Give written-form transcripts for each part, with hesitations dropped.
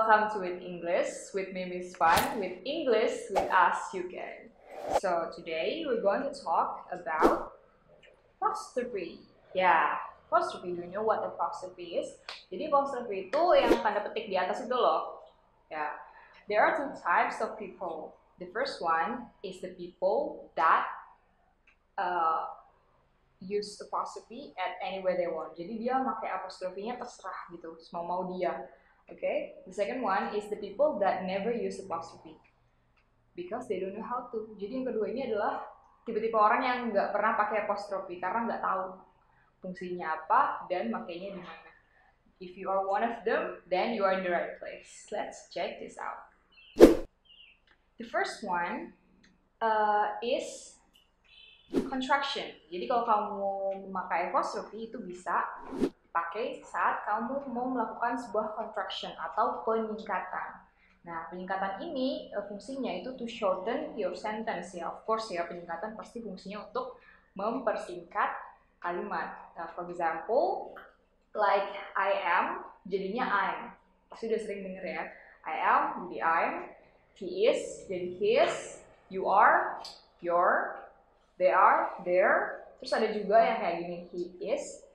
welcome to With English with me, Miss Fun. With English with us, you can. So today we're going to talk about apostrophe. Yeah, apostrophe. Do you know what apostrophe is? Jadi apostrophe itu yang tanda petik di atas itu loh. Yeah, there are two types of people. The first one is the people that use apostrophe at anywhere they want. Jadi dia pakai apostrofinya terserah gitu, mau dia. Okay. The second one is the people that never use apostrophe because they don't know how to. Jadi yang kedua ini adalah tipe-tipe orang yang nggak pernah pakai apostrophe karena nggak tahu fungsinya apa dan makainya di mana. If you are one of them, then you are in the right place. Let's check this out. The first one is contraction. Jadi kalau kamu memakai apostrophe itu bisa dipakai saat kamu mau melakukan sebuah contraction atau peningkatan. Nah, peningkatan ini fungsinya itu to shorten your sentence ya. Of course ya, peningkatan pasti fungsinya untuk mempersingkat kalimat. For example, like I am jadinya I'm. Pasti udah sering denger ya. I am jadi I'm, he is jadi his, you are your, they are their. Terus ada juga yang kayak gini, he is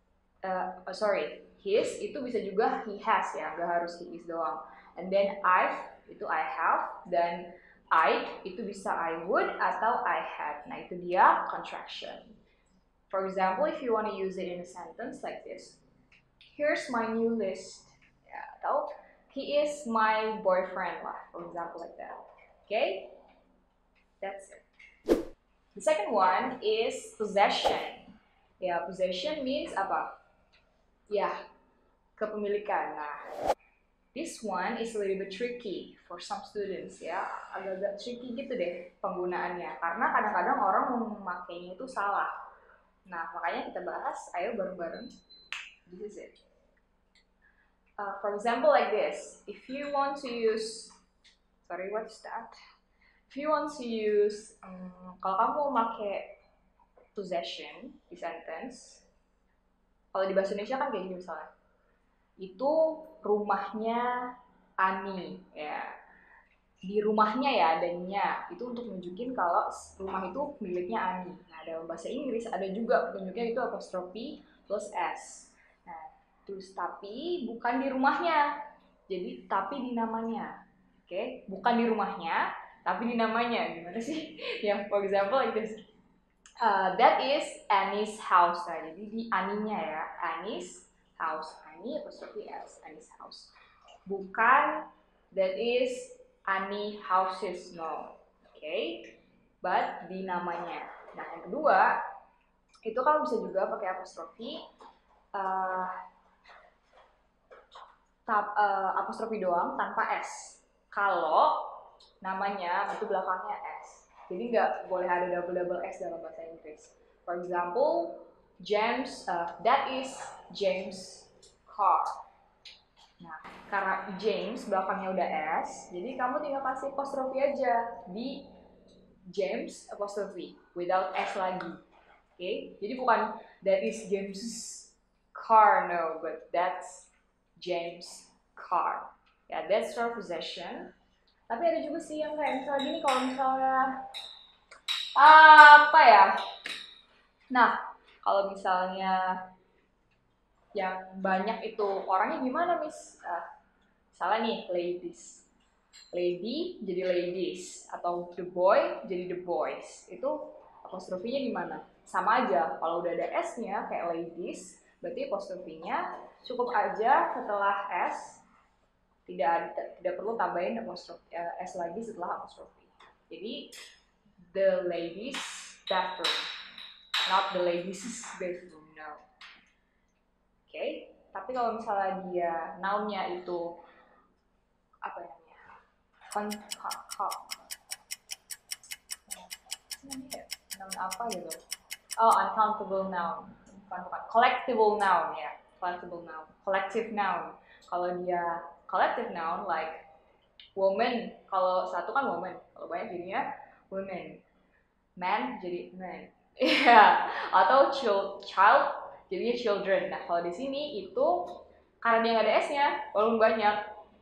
his itu bisa juga he has ya, gak harus he is doang. And then I've itu I have, dan I itu bisa I would atau I had. Nah itu dia contraction. For example, if you want to use it in a sentence like this, here's my new list. Ya, atau he is my boyfriend lah, for example like that. Okay, that's it. The second one is possession. Ya, possession means apa? Ya, kepemilikan. Nah, this one is a little bit tricky for some students ya. Agak-agak tricky gitu deh penggunaannya. Karena kadang-kadang orang memakainya itu salah. Nah, makanya kita bahas, ayo bareng-bareng. This is it. For example like this. If you want to use, what's that? If you want to use, kalau kamu mau pakai possession di sentence, kalau di bahasa Indonesia kan kayak gini misalnya, itu rumahnya Ani ya, di rumahnya ya adanya, itu untuk nunjukin kalau rumah itu miliknya Ani. Nah dalam bahasa Inggris ada juga penunjuknya itu apostrophe plus s. Nah terus tapi bukan di rumahnya, jadi tapi di namanya. Oke, bukan di rumahnya tapi di namanya. Gimana sih? Yang for example like this. That is Annie's house. Nah, jadi di Aninya ya, Annie's house. Annie apostrophe s, Annie's house. Bukan that is Annie houses, no. Okay, but di namanya. Nah, yang kedua itu kalau bisa juga pakai apostrophe, apostrophe doang tanpa s. Kalau namanya itu belakangnya s. Jadi nggak boleh ada double S dalam bahasa Inggris. For example, James, that is James' car. Nah, karena James belakangnya udah S, jadi kamu tinggal kasih apostrophe aja di James apostrophe without S lagi. Okay? Jadi bukan that is James' car, no, but that's James' car. Ya, that's your possession. Tapi ada juga sih yang kayak misalnya gini, kalau misalnya apa ya? Nah, kalau misalnya yang banyak itu orangnya gimana, Miss? Misalnya nih, ladies. Lady jadi ladies, atau the boy jadi the boys. Itu apostrofinya gimana? Sama aja, kalau udah ada S-nya kayak ladies, berarti apostrofinya cukup aja setelah S. Tidak perlu tambahin apostrophe s lagi setelah apostrophe. Jadi the ladies bathroom, not the ladies bathroom, no. Okay? Tapi kalau misalnya dia noun-nya itu apa namanya? Noun apa gitu? Oh, uncountable noun. Bukan. Collectible noun ya. Collectible noun. Collective noun. Kalau dia collective noun like woman, kalau satu kan woman, kalau banyak jadinya women. Man jadi man. Iya, atau child jadinya children. Nah, kalau di sini itu karena dia nggak ada S-nya, walaupun banyak,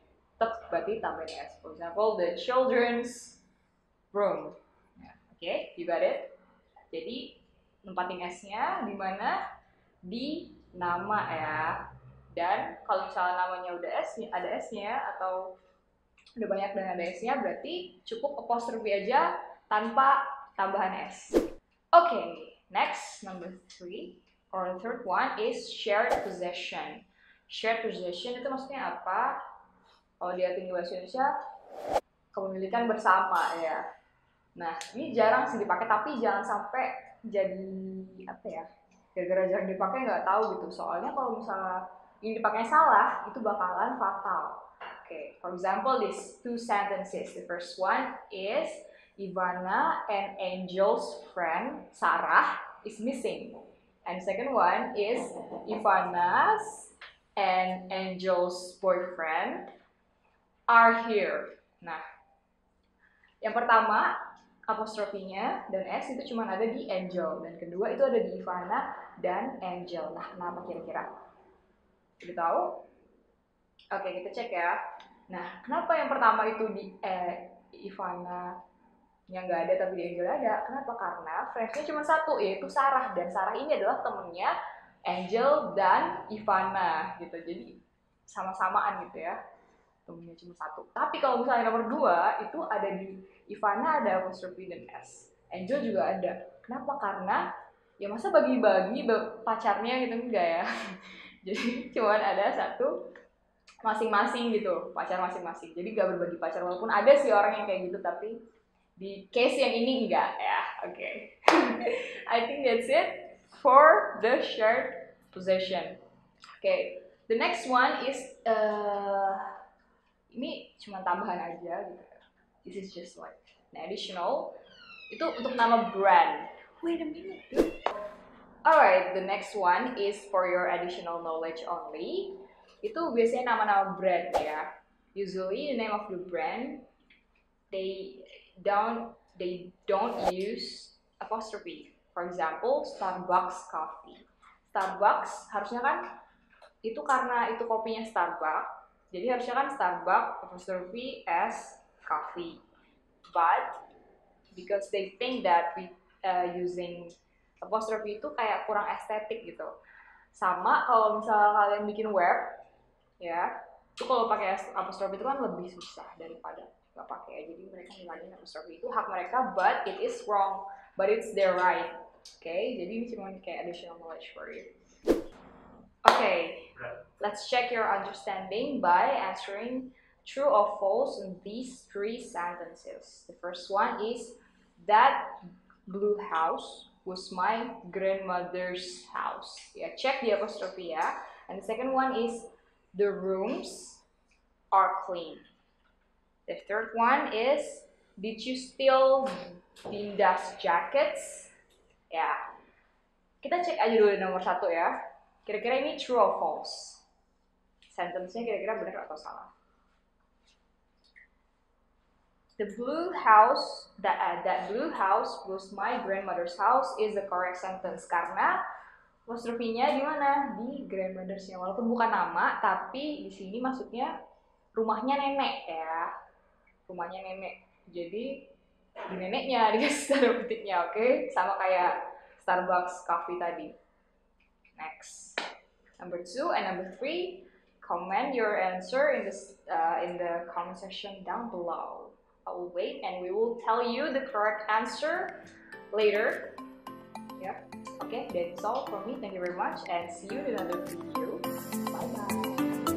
tetap berarti tambahin S. For example, the children's room. Oke, you got it? Jadi nempatin S-nya di mana? Di nama ya. Dan kalau misalnya namanya udah ada S-nya atau udah banyak dan ada S-nya, berarti cukup apostrophe aja tanpa tambahan S. Okay, next, number 3 or the third one is shared possession. Shared possession itu maksudnya apa? Kalau diartikan di bahasa Indonesia, kepemilikan bersama ya. Nah, ini jarang sih dipakai, tapi jangan sampai jadi apa ya? Gara-gara jarang dipakai nggak tahu gitu. Soalnya kalau misalnya ini dipakai salah, itu bakalan fatal. Okay, for example, these two sentences. The first one is Ivana and Angel's friend Sarah is missing. And the second one is Ivana's and Angel's boyfriend are here. Nah, yang pertama apostrofinya dan S itu cuma ada di Angel, dan kedua itu ada di Ivana dan Angel. Nah, kenapa kira-kira? Udah tahu? Oke, kita cek ya. Nah, kenapa yang pertama itu di Ivana yang nggak ada tapi di Angel ada? Kenapa? Karena friends-nya cuma satu, yaitu Sarah, dan Sarah ini adalah temennya Angel dan Ivana gitu. Jadi sama-samaan gitu ya, temennya cuma satu. Tapi kalau misalnya nomor 2 itu ada di Ivana ada apostrophe dan S, Angel juga ada. Kenapa? Karena ya masa bagi-bagi pacarnya gitu, enggak ya. Jadi cuman ada satu masing-masing gitu, pacar masing-masing. Jadi gak berbagi pacar, walaupun ada sih orang yang kayak gitu, tapi di case yang ini enggak ya. Oke. I think that's it for the shared possession. Okay, the next one is ini cuma tambahan aja gitu. This is just like an additional. Itu untuk nama brand. Wait a minute, dude. Alright, the next one is for your additional knowledge only. Itu biasanya nama-nama brand ya. Usually the name of the brand they don't use apostrophe. For example, Starbucks coffee. Starbucks harusnya kan itu karena itu kopinya Starbucks. Jadi harusnya kan Starbucks apostrophe S coffee. But because they think that we using apostrophe itu kayak kurang estetik gitu. Sama kalau misalnya kalian bikin web ya, itu kalau pakai apostrophe itu kan lebih susah daripada nggak pakai. Jadi mereka ngilangin apostrophe, itu hak mereka, but it is wrong, but it's their right. Okay, jadi ini cuma kayak additional knowledge for you. Okay, let's check your understanding by answering true or false in these 3 sentences. The first one is that blue house was my grandmother's house. Ya, check di apostrophe ya. And the second one is the rooms are clean. The third one is did you steal Dinda's jackets? Ya, kita cek aja dulu nomor 1 ya. Kira-kira ini true or false? Sentence-nya kira-kira benar atau salah? The blue house, that blue house was my grandmother's house is the correct sentence, karena apostrophe-nya di mana? Di grandmother's-nya. Walaupun bukan nama, tapi di sini maksudnya rumahnya nenek ya. Rumahnya nenek. Jadi di neneknya dikasih tanda petiknya, oke? Sama kayak Starbucks coffee tadi. Next. Number 2 and number 3, comment your answer in the comment section down below. I will wait and we will tell you the correct answer later. Yeah. Okay, that's all from me. Thank you very much and see you in another video. Bye bye.